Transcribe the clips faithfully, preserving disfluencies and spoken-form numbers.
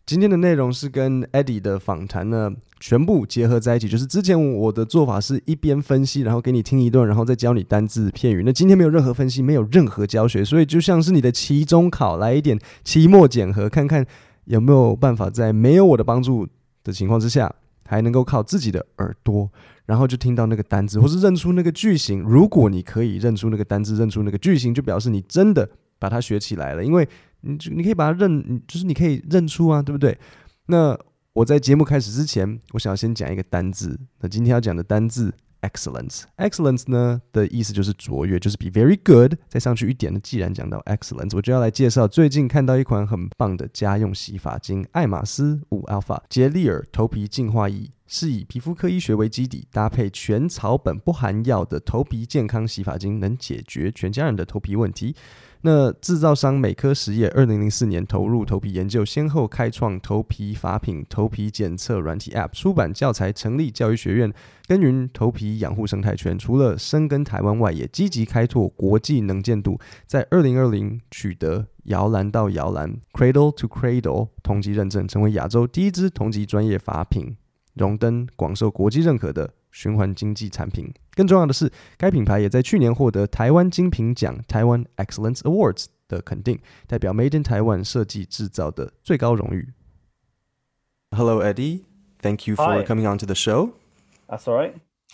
今天的內容是跟 Eddie 的訪談呢，全部結合在一起。就是之前我的做法是一邊分析，然後給你聽一段，然後再教你單字片語。那今天沒有任何分析，沒有任何教學，所以就像是你的期中考，來一點期末檢核，看看有沒有辦法在沒有我的幫助的情況之下，還能夠靠自己的耳朵，然後就聽到那個單字，或是認出那個句型。如果你可以認出那個單字，認出那個句型，就表示你真的把它學起來了，因為你你可以把它認，就是你可以認出啊，對不對？那我在節目開始之前，我想要先講一個單字。那今天要講的單字 excellence，excellence 呢的意思就是卓越，就是比 very good 再上去一點。那既然講到 excellence， 我就要來介紹最近看到一款很棒的家用洗髮精——愛馬仕五 Alpha 潔麗爾頭皮淨化液，是以皮膚科醫學為基底，搭配全草本不含藥的頭皮健康洗髮精，能解決全家人的頭皮問題。那製造商美科實業二零零四年投入頭皮研究，先後開創頭皮髮品、頭皮檢測軟體 App， 出版教材，成立教育學院，耕耘頭皮養護生態圈。除了深耕台灣外，也積極開拓國際能見度。在二零二零取得搖籃到搖籃 （Cradle to Cradle） 同級認證，成為亞洲第一支同級專業髮品，榮登廣受國際認可的循環經濟產品。更重要的是，該品牌也在去年獲得台灣精品獎 （Taiwan Excellence Awards） 的肯定，代表 Made in Taiwan 設計製造的最高榮譽。Hello, Eddie. Thank you for Hi. coming on to the show. That's all right.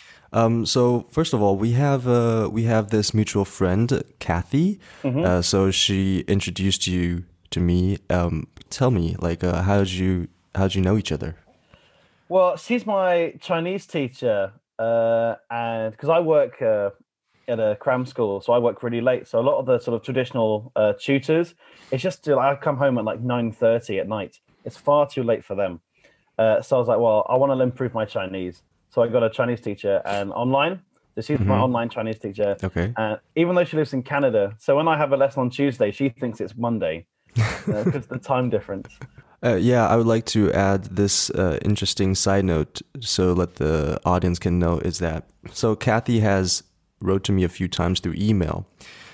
Um, so first of all, we have uh, we have this mutual friend, Kathy. Mm-hmm. Uh, so she introduced you to me. Um, tell me, like, uh, how did you how did you know each other? Well, she's my Chinese teacher, uh, and because I work uh, at a cram school, so I work really late. So a lot of the sort of traditional uh, tutors, it's just till I come home at like nine thirty at night. It's far too late for them. Uh, so I was like, well, I want to improve my Chinese. So I got a Chinese teacher and online. So she's mm-hmm. my online Chinese teacher. Okay. And even though she lives in Canada, so when I have a lesson on Tuesday, she thinks it's Monday because uh, the time difference. Uh, yeah, I would like to add this uh, interesting side note so that the audience can know is that, so Kathy has wrote to me a few times through email,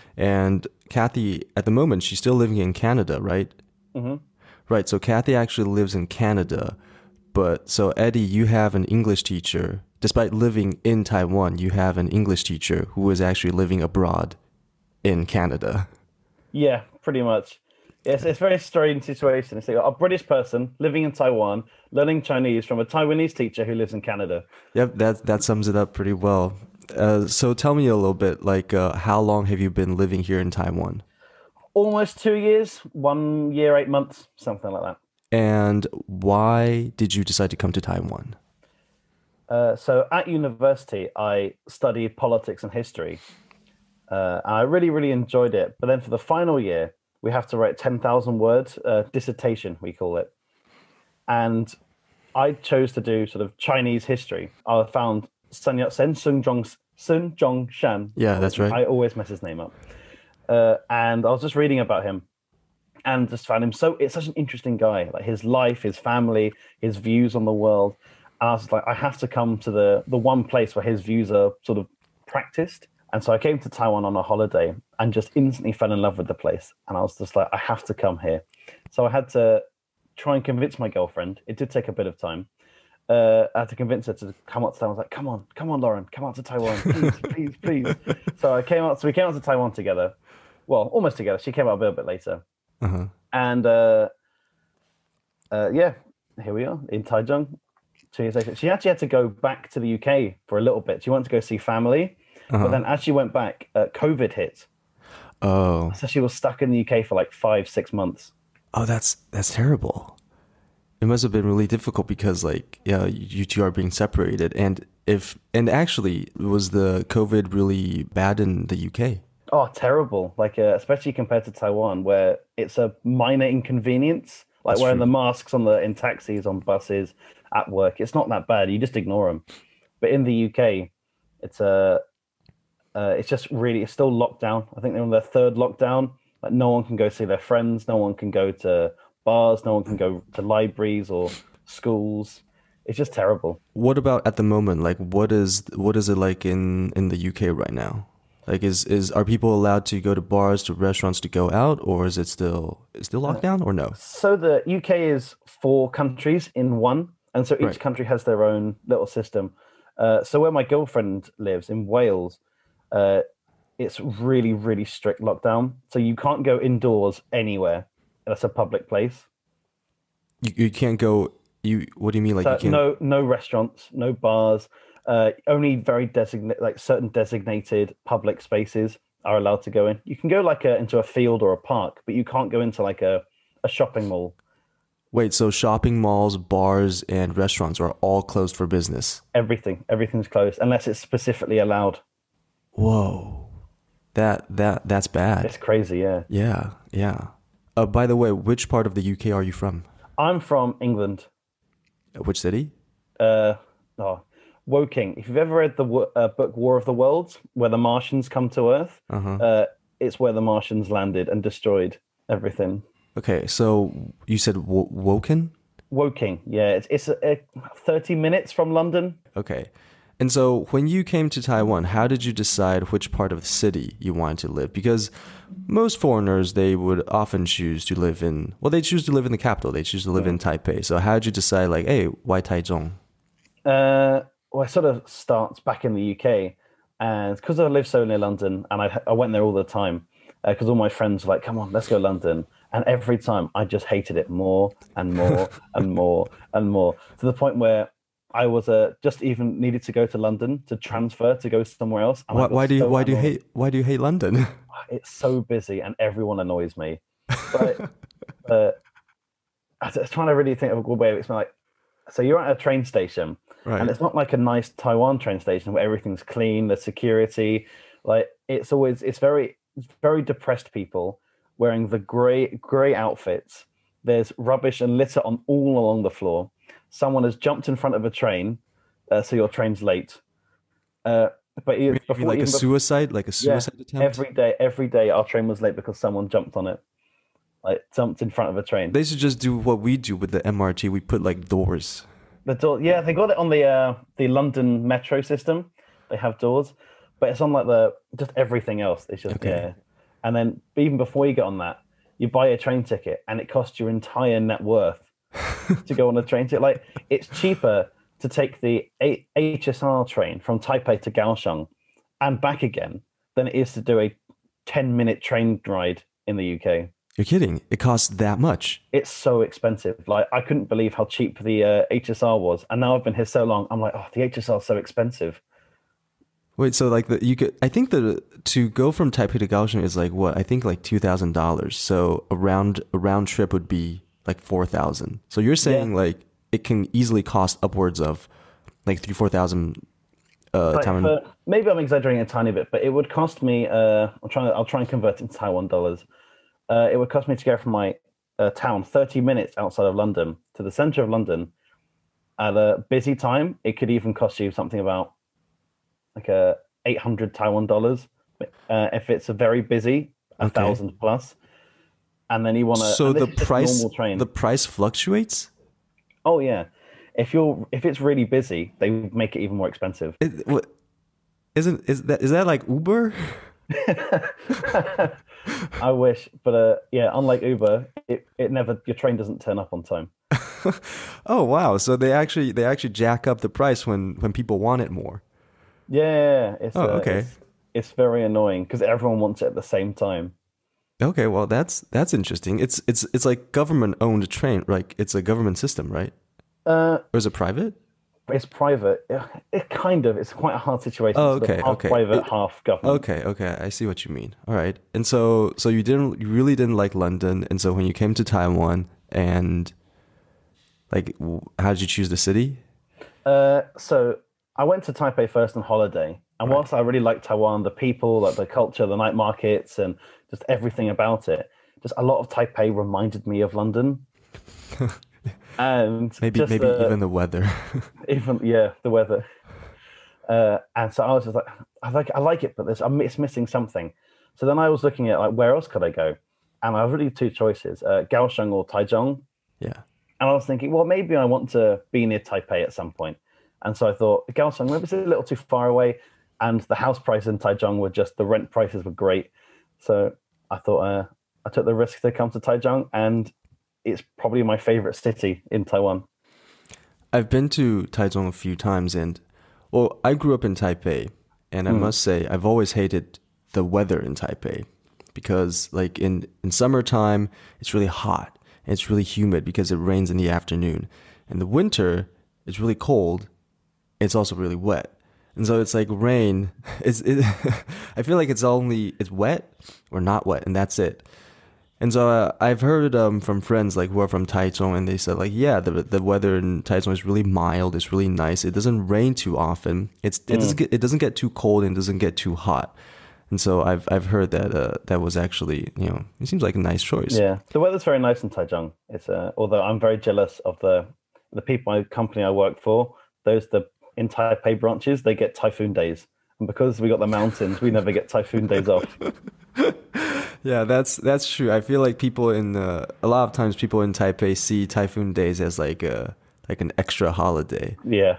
and Kathy, at the moment, she's still living in Canada, right? Mm-hmm. Right, so Kathy actually lives in Canada, but so Eddie, you have an English teacher, despite living in Taiwan, you have an English teacher who is actually living abroad in Canada. Yeah, pretty much. Yes, it's a very strange situation. It's like a British person living in Taiwan, learning Chinese from a Taiwanese teacher who lives in Canada. Yep, that that sums it up pretty well. Uh, so tell me a little bit, like, uh, how long have you been living here in Taiwan? Almost two years, one year, eight months, something like that. And why did you decide to come to Taiwan? Uh, so at university, I studied politics and history. Uh, and I really, really enjoyed it. But then for the final year, we have to write ten thousand words, uh, dissertation, we call it. And I chose to do sort of Chinese history. I found Sun Yat-sen, Sun Zhong, Sun Zhongshan. Yeah, that's right. I always mess his name up. Uh, and I was just reading about him and just found him so, it's such an interesting guy, like his life, his family, his views on the world. And I was like, I have to come to the, the one place where his views are sort of practiced. And so I came to Taiwan on a holiday and just instantly fell in love with the place. And I was just like, I have to come here. So I had to try and convince my girlfriend. It did take a bit of time. Uh, I had to convince her to come out to Taiwan. I was like, come on, come on, Lauren, come out to Taiwan, please, please, please. So I came out. So we came out to Taiwan together. Well, almost together. She came out a little bit later. Uh-huh. And uh, uh, yeah, here we are in Taichung. Two years later. She actually had to go back to the U K for a little bit. She wanted to go see family. Uh-huh. But then as she went back, uh, COVID hit. Oh. So she was stuck in the U K for like five, six months. Oh, that's that's terrible. It must have been really difficult because, like, yeah, you two are being separated. And if and actually, was the COVID really bad in the U K? Oh, terrible. Like, uh, especially compared to Taiwan, where it's a minor inconvenience. Like that's wearing true. the masks on the in taxis, on buses, at work. It's not that bad. You just ignore them. But in the U K, it's a... Uh, it's just really, it's still locked down. I think they're on their third lockdown. Like no one can go see their friends. No one can go to bars. No one can go to libraries or schools. It's just terrible. What about at the moment? Like, what is what is it like in, in the U K right now? Like, is is are people allowed to go to bars, to restaurants, to go out, or is it still is still locked down, or no? So the U K is four countries in one, and so each Right. country has their own little system. Uh, so where my girlfriend lives in Wales, uh, it's really, really strict lockdown. So you can't go indoors anywhere. That's a public place. You you can't go. You what do you mean? Like So you can't? no, no restaurants, no bars. Uh, only very designate, like certain designated public spaces are allowed to go in. You can go like a, into a field or a park, but you can't go into like a, a shopping mall. Wait, so shopping malls, bars, and restaurants are all closed for business? Everything, everything's closed unless it's specifically allowed. Whoa, that that that's bad. It's crazy, yeah. Yeah, yeah. Uh, by the way, which part of the U K are you from? I'm from England. Which city? Uh, oh, Woking. If you've ever read the wo- uh, book War of the Worlds, where the Martians come to Earth, Uh-huh. uh, it's where the Martians landed and destroyed everything. Okay, so you said w- Woken? Woking, yeah, it's it's uh, thirty minutes from London. Okay. And so when you came to Taiwan, how did you decide which part of the city you wanted to live? Because most foreigners, they would often choose to live in, well, they choose to live in the capital. They choose to live in Taipei. So how did you decide, like, hey, why Taichung? Uh, well, it sort of starts back in the U K, and because I live so near London, and I I went there all the time, because all my friends were like, "Come on, let's go London," and every time I just hated it more and more and more and more, to the point where I was uh, just even needed to go to London to transfer to go somewhere else. and I Why, got why do you so why do you annoyed. hate why do you hate London? It's so busy and everyone annoys me. But uh, I was trying to really think of a good way of explaining. Like, so you're at a train station, Right. and it's not like a nice Taiwan train station where everything's clean, the security, like it's always it's very it's very depressed people wearing the grey grey outfits. There's rubbish and litter on all along the floor. Someone has jumped in front of a train, uh, so your train's late. Uh, but e- You mean before, like a even before- suicide, like a yeah, suicide attempt? every day, every day our train was late because someone jumped on it, like jumped in front of a train. They should just do what we do with the M R T. We put like doors. The door, yeah, they got it on the uh, the London metro system. They have doors, but it's on like the just everything else. It's just Okay. yeah, and then even before you get on that, you buy a train ticket, and it costs your entire net worth to go on a train ticket. Like it's cheaper to take the A- H S R train from Taipei to Kaohsiung and back again than it is to do a ten minute train ride in the U K. You're kidding. It costs that much. It's so expensive. Like I couldn't believe how cheap the uh, H S R was, and now I've been here so long. I'm like, oh, the H S R is so expensive. Wait, so like the you could I think the to go from Taipei to Kaohsiung is like what? I think like two thousand dollars. So a round a round trip would be like four thousand. So you're saying Yeah. like it can easily cost upwards of like three four thousand uh Like, Taiwan. for- maybe I'm exaggerating a tiny bit, but it would cost me. Uh, I'm trying. I'll try and convert it into Taiwan dollars. Uh, it would cost me to go from my uh, town, thirty minutes outside of London, to the centre of London. At a busy time, it could even cost you something about like a eight hundred Taiwan dollars. Uh, if it's a very busy, a Okay. thousand plus. And then you want to. So the price normal train. the price fluctuates? Oh yeah, if you're if it's really busy, they make it even more expensive. It, what isn't is that is that like Uber? I wish, but uh, yeah, unlike Uber, it, it never your train doesn't turn up on time. Oh wow. So they actually they actually jack up the price when when people want it more. Yeah, it's Oh, uh, okay. It's, it's very annoying because everyone wants it at the same time. Okay, well that's that's interesting. It's it's it's like government owned train, like it's a government system, right? Uh, Or is it private? it's private. It, it kind of. It's quite a hard situation. Oh, It's sort of okay, half okay. private, It- half government. Okay, okay, I see what you mean. All right. And so so you didn't you really didn't like London, and so when you came to Taiwan and like w- how did you choose the city? Uh, so I went to Taipei first on holiday, and whilst I really liked Taiwan, the people, like the culture, the night markets, and just everything about it, just a lot of Taipei reminded me of London. And Maybe just, maybe uh, even the weather. even yeah, the weather. Uh, and so I was just like, I like I like it, but there's I'm, it's missing something. So then I was looking at like where else could I go, and I have really two choices: uh, Kaohsiung or Taichung. Yeah. And I was thinking, well, maybe I want to be near Taipei at some point. And so I thought, Kaohsiung, maybe it's a little too far away. and the house prices in Taichung were just the rent prices were great. So I thought uh, I took the risk to come to Taichung, and it's probably my favorite city in Taiwan. I've been to Taichung a few times, and well, I grew up in Taipei, and I mm. must say I've always hated the weather in Taipei because, like in in summertime, it's really hot and it's really humid because it rains in the afternoon. In the winter, it's really cold. It's also really wet. And so it's like rain. It's it, I feel like it's only it's wet or not wet, and that's it. And so uh, I've heard um, from friends like who are from Taichung, and they said like, yeah, the the weather in Taichung is really mild. It's really nice. It doesn't rain too often. It's it mm. doesn't get, it doesn't get too cold and doesn't get too hot. And so I've I've heard that uh, that was actually, you know, it seems like a nice choice. Yeah, the weather's very nice in Taichung. It's uh, although I'm very jealous of the the people, my company I work for. Those the in Taipei branches, they get typhoon days, and because we got the mountains, we never get typhoon days off. Yeah, that's that's true. I feel like people in uh, a lot of times people in Taipei see typhoon days as like a like an extra holiday. Yeah.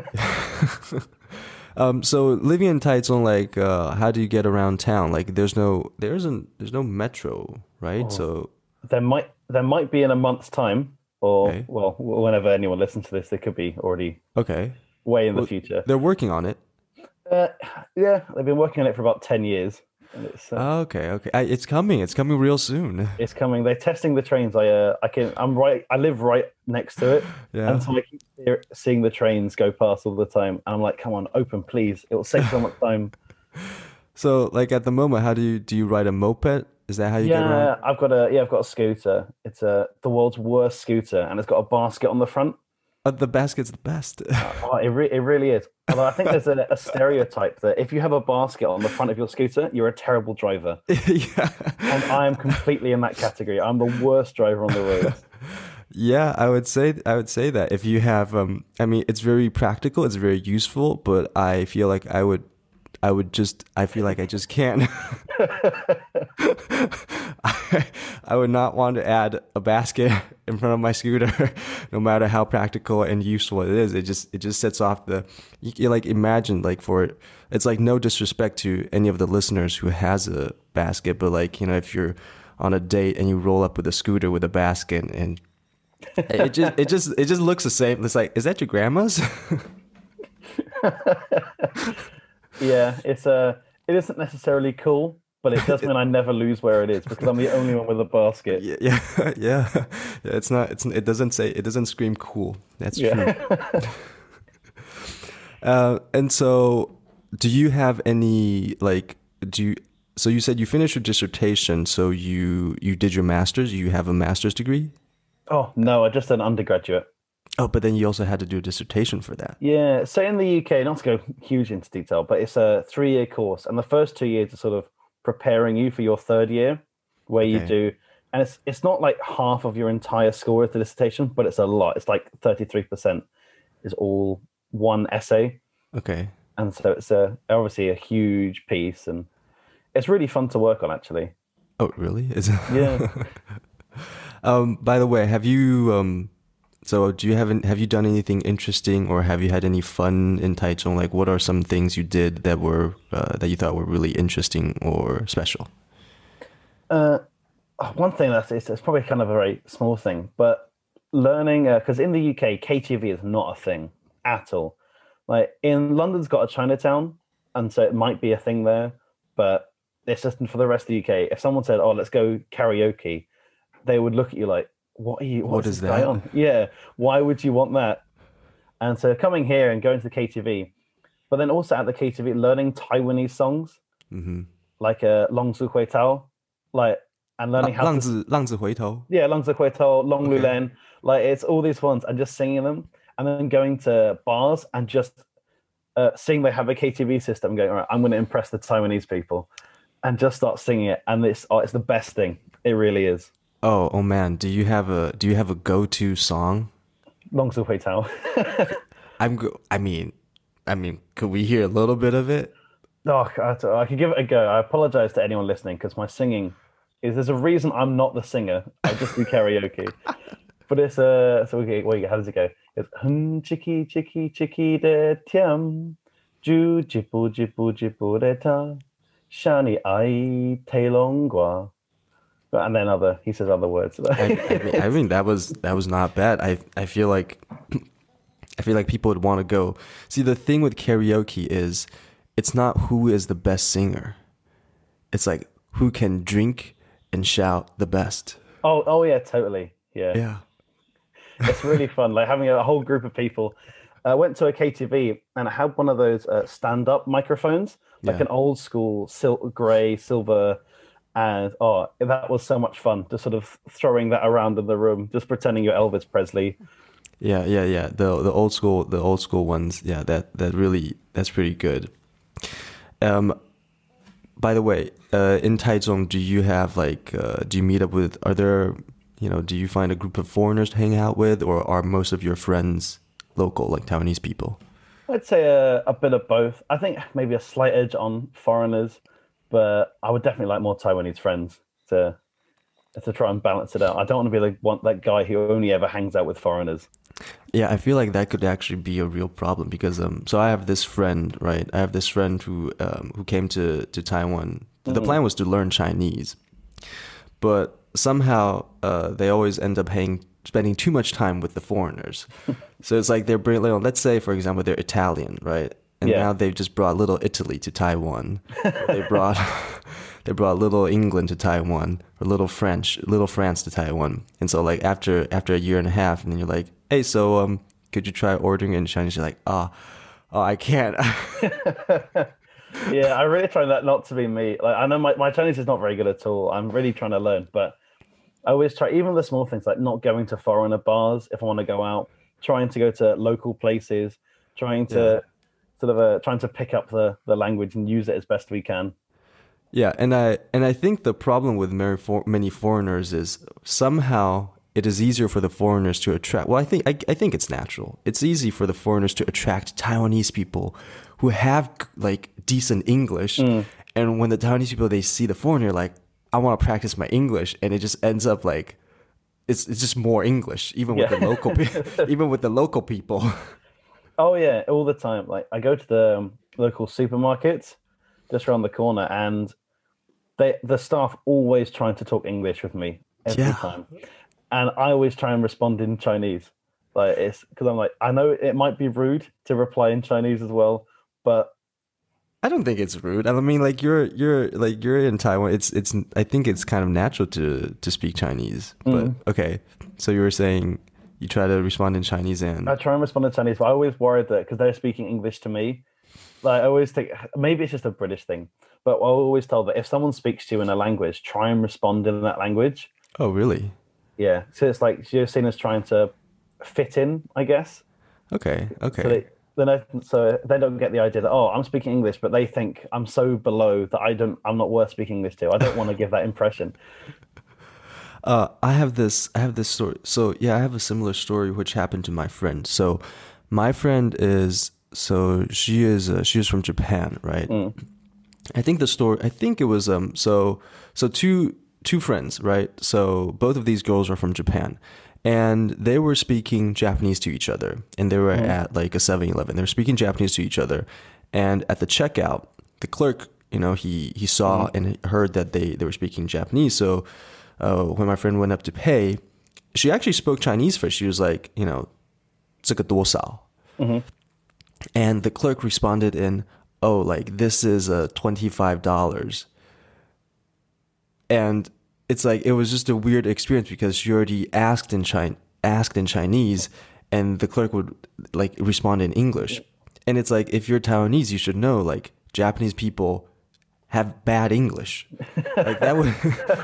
um. So living in Taichung, like, uh, how do you get around town? Like, there's no there isn't there's no metro, right? Oh. So there might there might be in a month's time, or okay. well, whenever anyone listens to this, they could be already okay way in well, the future. They're working on it. Uh, yeah, they've been working on it for about ten years. It's, uh, oh, okay, okay. I, it's coming. It's coming real soon. It's coming. They're testing the trains. I, uh, I can. I'm right. I live right next to it, yeah. And so I keep seeing the trains go past all the time. And I'm like, come on, open, please. It will save so much time. So, like at the moment, how do you do? You ride a moped? Is that how you yeah, get around? Yeah, I've got a. Yeah, I've got a scooter. It's a the world's worst scooter, and it's got a basket on the front. Uh, the basket's the best. oh, it, re- it really is. Although I think there's a, a stereotype that if you have a basket on the front of your scooter, you're a terrible driver. Yeah. And I am completely in that category. I'm the worst driver on the road. Yeah, I would say I would say that if you have, um, I mean, it's very practical, it's very useful, but I feel like I would, I would just, I feel like I just can't. I, I would not want to add a basket in front of my scooter, no matter how practical and useful it is. It just, it just sets off the, you, you like imagine like for, it's like no disrespect to any of the listeners who has a basket, but like, you know, if you're on a date and you roll up with a scooter with a basket and it just, it just, it just looks the same. It's like, is that your grandma's? Yeah, it's uh, it isn't necessarily cool, but it does mean I never lose where it is because I'm the only one with a basket. Yeah, yeah, yeah. yeah it's not. It's. It doesn't say. It doesn't scream cool. That's yeah. true. uh, and so, do you have any like? Do you? So you said you finished your dissertation. So you you did your master's. You have a master's degree. Oh no, I just did an undergraduate. Oh, but then you also had to do a dissertation for that. Yeah. So in the U K, not to go huge into detail, but it's a three-year course. And the first two years are sort of preparing you for your third year, where okay. you do, and it's it's not like half of your entire score is the dissertation, but it's a lot. It's like thirty-three percent is all one essay. Okay. And so it's a, obviously a huge piece, and it's really fun to work on, actually. Oh, really? Is it? Yeah. um, by the way, have you... Um, So do you have have you done anything interesting, or have you had any fun in Taichung? Like, what are some things you did that were uh, that you thought were really interesting or special? Uh, one thing that's it's, it's probably kind of a very small thing, but learning because uh, in the U K, K T V is not a thing at all. Like in London's got a Chinatown, and so it might be a thing there, but it's just for the rest of the U K. If someone said, "Oh, let's go karaoke," they would look at you like, What are you? What is that? On? Yeah, why would you want that? And so coming here and going to the K T V, but then also at the K T V learning Taiwanese songs, mm-hmm. like uh, Long Zu Hui Tao, like and learning how Lang to Zi, Lang Zi Hui Tou. Yeah, Lang Zi Hui Tao, Long Lu Len, like it's all these ones and just singing them, and then going to bars and just uh, seeing they have a K T V system, and going, all right, I'm going to impress the Taiwanese people, and just start singing it, and it's oh, it's the best thing. It really is. Oh, oh man! Do you have a Do you have a go-to song? Long Zu Hui Tao. I'm. Go- I mean, I mean, could we hear a little bit of it? Oh, I, I could give it a go. I apologize to anyone listening because my singing is. There's a reason I'm not the singer. I just do karaoke. But it's uh. So okay, wait, how does it go? It's hum chiki chiki chiki de tiam Ju jipu jipu jipu reta, shani ai teilongua. And then other, he says other words. I, I mean, I mean that was that was not bad. I I feel like I feel like people would want to go. See, the thing with karaoke is, it's not who is the best singer. It's like who can drink and shout the best. Oh, oh yeah, totally. Yeah, Yeah. It's really fun. Like having a whole group of people. I went to a K T V and I had one of those uh, stand-up microphones, like Yeah. an old school sil- gray, silver. And oh, that was so much fun, just sort of throwing that around in the room, just pretending you're Elvis Presley. Yeah, yeah, yeah. The the old school the old school ones. Yeah, that that really that's pretty good. Um, by the way, uh, in Taichung, do you have like uh, do you meet up with? Are there you know? Do you find a group of foreigners to hang out with, or are most of your friends local, like Taiwanese people? I'd say a, a bit of both. I think maybe a slight edge on foreigners, but I would definitely like more Taiwanese friends to to try and balance it out. I don't want to be like one that guy who only ever hangs out with foreigners. Yeah, I feel like that could actually be a real problem because um so I have this friend, right? I have this friend who um who came to to Taiwan. The Mm-hmm. plan was to learn Chinese. But somehow uh they always end up hang, spending too much time with the foreigners. So it's like they're bringing, you know, let's say for example they're Italian, right? And Yeah. now they've just brought little Italy to Taiwan. Or they brought they brought little England to Taiwan, or little French, little France to Taiwan. And so like after after a year and a half, and then you're like, hey, so um, could you try ordering it in Chinese? You're like, ah, oh, oh, I can't. Yeah, I really try that not to be me. Like I know my, my Chinese is not very good at all. I'm really trying to learn, but I always try even the small things like not going to foreigner bars if I want to go out, trying to go to local places, trying to Yeah. sort of uh, trying to pick up the, the language and use it as best we can. Yeah, and I and I think the problem with many, for, many foreigners is somehow it is easier for the foreigners to attract. Well, I think I, I think it's natural. It's easy for the foreigners to attract Taiwanese people who have like decent English, Mm. and when the Taiwanese people they see the foreigner, like I want to practice my English, and it just ends up like it's it's just more English, even with Yeah. the local pe- even with the local people. Oh yeah, all the time. Like I go to the um, local supermarket just around the corner, and they the staff always trying to talk English with me every Yeah. time, and I always try and respond in Chinese. Like it's because I'm like I know it might be rude to reply in Chinese as well, but I don't think it's rude. I mean, like you're you're like you're in Taiwan. It's it's. I think it's kind of natural to to speak Chinese. But Mm. okay, so you were saying you try to respond in Chinese and I try and respond in Chinese. But I always worried that because they're speaking English to me, like I always think maybe it's just a British thing, but I always tell that if someone speaks to you in a language, try and respond in that language. oh really? Yeah, so it's like you're seen as trying to fit in, I guess. Okay, okay. So they, then I, so they don't get the idea that oh, I'm speaking English, but they think I'm so below that I don't, I'm not worth speaking English to. I don't want to give that impression. Uh, I have this. I have this story. So yeah, I have a similar story which happened to my friend. So my friend is so she is uh, she is from Japan, right? Mm. I think the story. I think it was um. So so two two friends, right? So both of these girls are from Japan, and they were speaking Japanese to each other, and they were at like a seven eleven. They were speaking Japanese to each other, and at the checkout, the clerk, you know, he he saw and heard that they they were speaking Japanese. So uh, when my friend went up to pay, she actually spoke Chinese first. She was like, you know, 这个多少? And the clerk responded in, oh, like, this is uh, twenty-five dollars. And it's like, it was just a weird experience because she already asked in Chi- asked in Chinese, and the clerk would like respond in English. And it's like, if you're Taiwanese, you should know, like, Japanese people have bad English. Like that would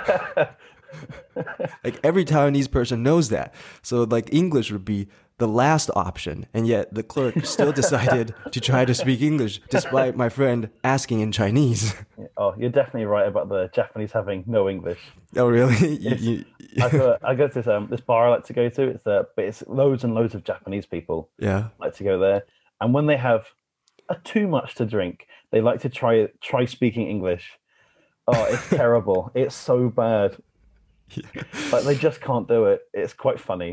like every Taiwanese person knows that. So like English would be the last option, and yet the clerk still decided to try to speak English despite my friend asking in Chinese. Oh, you're definitely right about the Japanese having no English. Oh really? You- It's- you- I go, I go to this um this bar I like to go to. It's uh, but it's loads and loads of Japanese people yeah. like to go there, and when they have a too much to drink, they like to try try speaking English. Oh, it's terrible. It's so bad. Like they just can't do it. It's quite funny.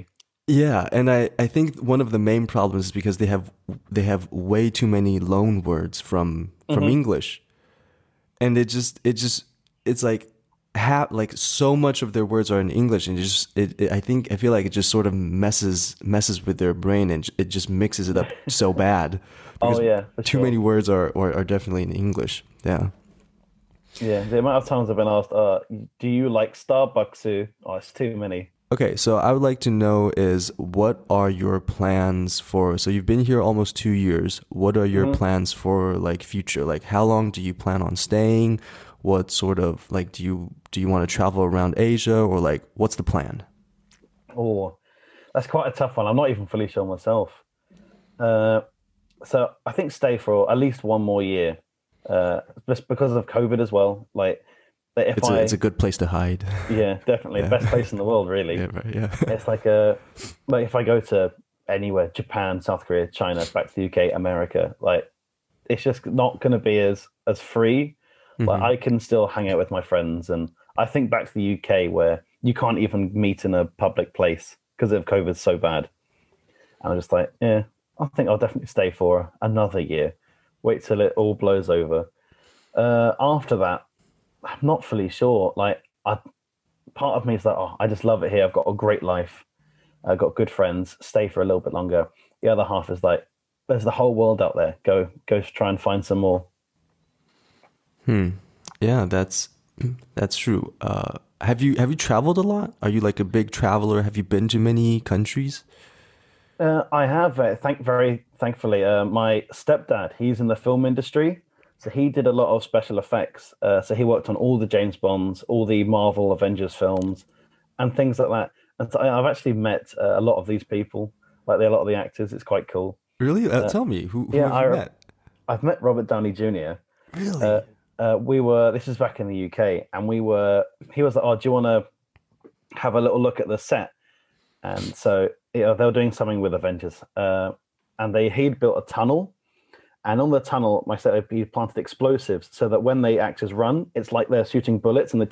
Yeah, and I, I think one of the main problems is because they have they have way too many loan words from from Hmm. English, and it just it just it's like ha like so much of their words are in English, and it just it, it I think I feel like it just sort of messes messes with their brain, and it just mixes it up so bad Oh because yeah, for too many sure. words are are, are definitely in English. Yeah. Yeah, the amount of times I've been asked, uh, "Do you like Starbucks?" Oh, it's too many. Okay, so I would like to know is what are your plans for, so you've been here almost two years. What are your Hmm. plans for like future? Like how long do you plan on staying? What sort of like do you do you want to travel around Asia or like what's the plan? Oh, that's quite a tough one. I'm not even fully sure myself. Uh, so I think stay for at least one more year, uh, just because of COVID as well. Like, that if It's a it's a I, good place to hide. yeah, definitely the Yeah. best place in the world, Yeah, really. right. Yeah. It's like a, like if I go to anywhere, Japan, South Korea, China, back to the U K, America, like it's just not going to be as as free. Like hmm I can still hang out with my friends, and I think back to the U K where you can't even meet in a public place because of COVID so bad. And I'm just like, yeah, I think I'll definitely stay for another year. Wait till it all blows over. Uh, after that, I'm not fully sure. Like, I part of me is like, oh, I just love it here. I've got a great life. I've got good friends. Stay for a little bit longer. The other half is like, there's the whole world out there. Go, go try and find some more. Hmm. Yeah, that's that's true. Uh, have you have you traveled a lot? Are you like a big traveler? Have you been to many countries? Uh, I have, uh, thank very thankfully, uh, my stepdad. He's in the film industry, so he did a lot of special effects. Uh, so he worked on all the James Bonds, all the Marvel Avengers films, and things like that. And so I- I've actually met uh, a lot of these people, like the, a lot of the actors. It's quite cool. Really? Uh, Uh, tell me, who who yeah, have you I met? I've met Robert Downey Junior Uh, Really? uh, we were this is back in the U K, and we were. He was like, "Oh, do you want to have a little look at the set?" And so you know, they were doing something with Avengers, uh, and they he'd built a tunnel, and on the tunnel, my set he planted explosives so that when the actors run, it's like they're shooting bullets and the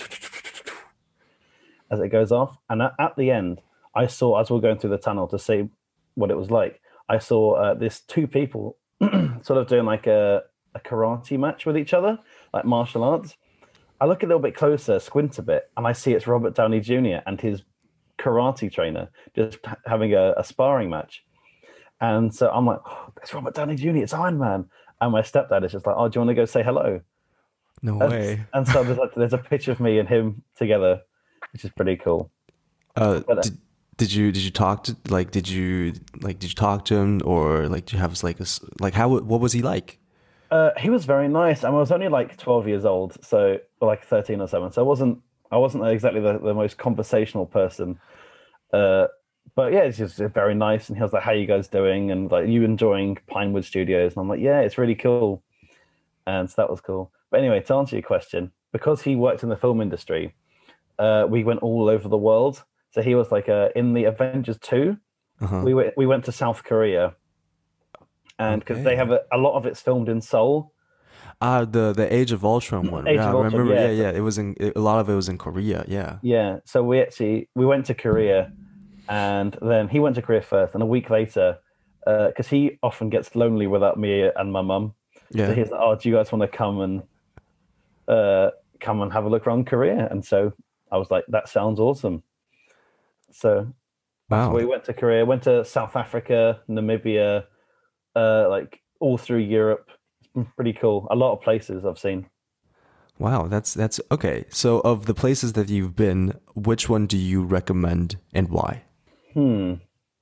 as it goes off. And at, at the end, I saw as we are going through the tunnel to see what it was like. I saw uh, this two people sort of doing like a, a karate match with each other, like martial arts. I look a little bit closer, squint a bit, and I see it's Robert Downey Junior and his karate trainer just having a, a sparring match. And so I'm like, oh, it's Robert Downey Junior, it's Iron Man. And my stepdad is just like, oh, do you want to go say hello? No And, way. and so there's, like, there's a picture of me and him together, which is pretty cool. Uh, But uh, did did you did you talk to like did you like did you talk to him or like do you have like a s- like how what was he like? uh, he was very nice. I was only like twelve years old, so or like thirteen or seven. So I wasn't I wasn't exactly the, the most conversational person. Uh, but yeah, it's just very nice. And he was like, "How you guys doing?" And like, "You enjoying Pinewood Studios?" And I'm like, "Yeah, it's really cool." And so that was cool. But anyway, to answer your question, because he worked in the film industry, uh, we went all over the world. So he was like uh, in the Avengers two. Uh-huh. We went we went to South Korea, and because they have Okay. a, a lot of it's filmed in Seoul, Ah, the the Age of Ultron one. Age Yeah, I of Ultron. remember. Yeah, Yeah, so, yeah. It was in it, a lot of it was in Korea. Yeah. yeah. So we actually we went to Korea, and then he went to Korea first, and a week later, because uh, he often gets lonely without me and my mum. So Yeah. he's like, "Oh, do you guys want to come and uh, come and have a look around Korea?" And so I was like, "That sounds awesome." So that's Wow. where we went to Korea, went to South Africa, Namibia, uh, like all through Europe. It's been pretty cool. A lot of places I've seen. Wow, that's that's okay. So of the places that you've been, which one do you recommend and why? Hmm.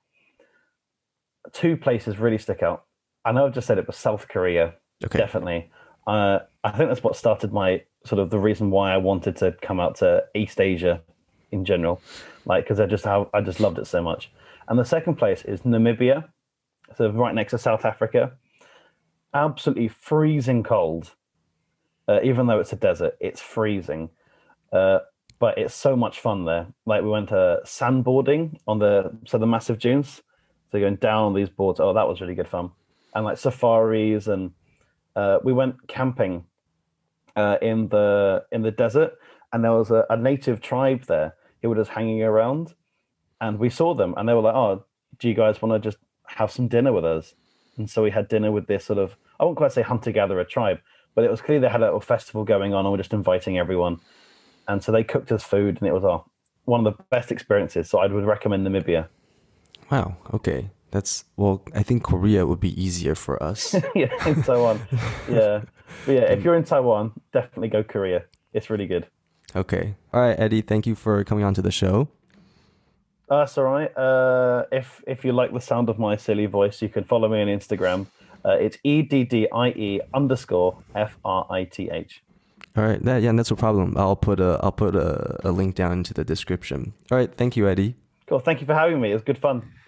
Two places really stick out. I know I've just said it, but South Korea, Okay. definitely. Uh, I think that's what started my sort of the reason why I wanted to come out to East Asia in general, like because I just how I just loved it so much. And the second place is Namibia, so right next to South Africa. Absolutely freezing cold, uh, even though it's a desert. It's freezing, uh, but it's so much fun there. Like we went to sandboarding on the so the massive dunes. So going down on these boards. Oh, that was really good fun. And like safaris, and uh, we went camping uh, in the in the desert, and there was a, a native tribe there who were just hanging around, and we saw them, and they were like, "Oh, do you guys want to just have some dinner with us?" And so we had dinner with this sort of, I won't quite say hunter-gatherer tribe, but it was clear they had a little festival going on, and we're just inviting everyone. And so they cooked us food, and it was oh, one of the best experiences. So I would recommend Namibia. Wow. Okay. That's, well, I think Korea would be easier for us. Yeah, in Taiwan. Yeah. But yeah, if you're in Taiwan, definitely go Korea. It's really good. Okay. All right, Eddie, thank you for coming on to the show. Uh, that's all right. Uh, if if you like the sound of my silly voice, you can follow me on Instagram. Uh, it's E D D I E underscore F R I T H. All right. That, yeah, that's no problem. I'll put a I'll put a, a link down into the description. All right. Thank you, Eddie. Cool. Thank you for having me. It was good fun.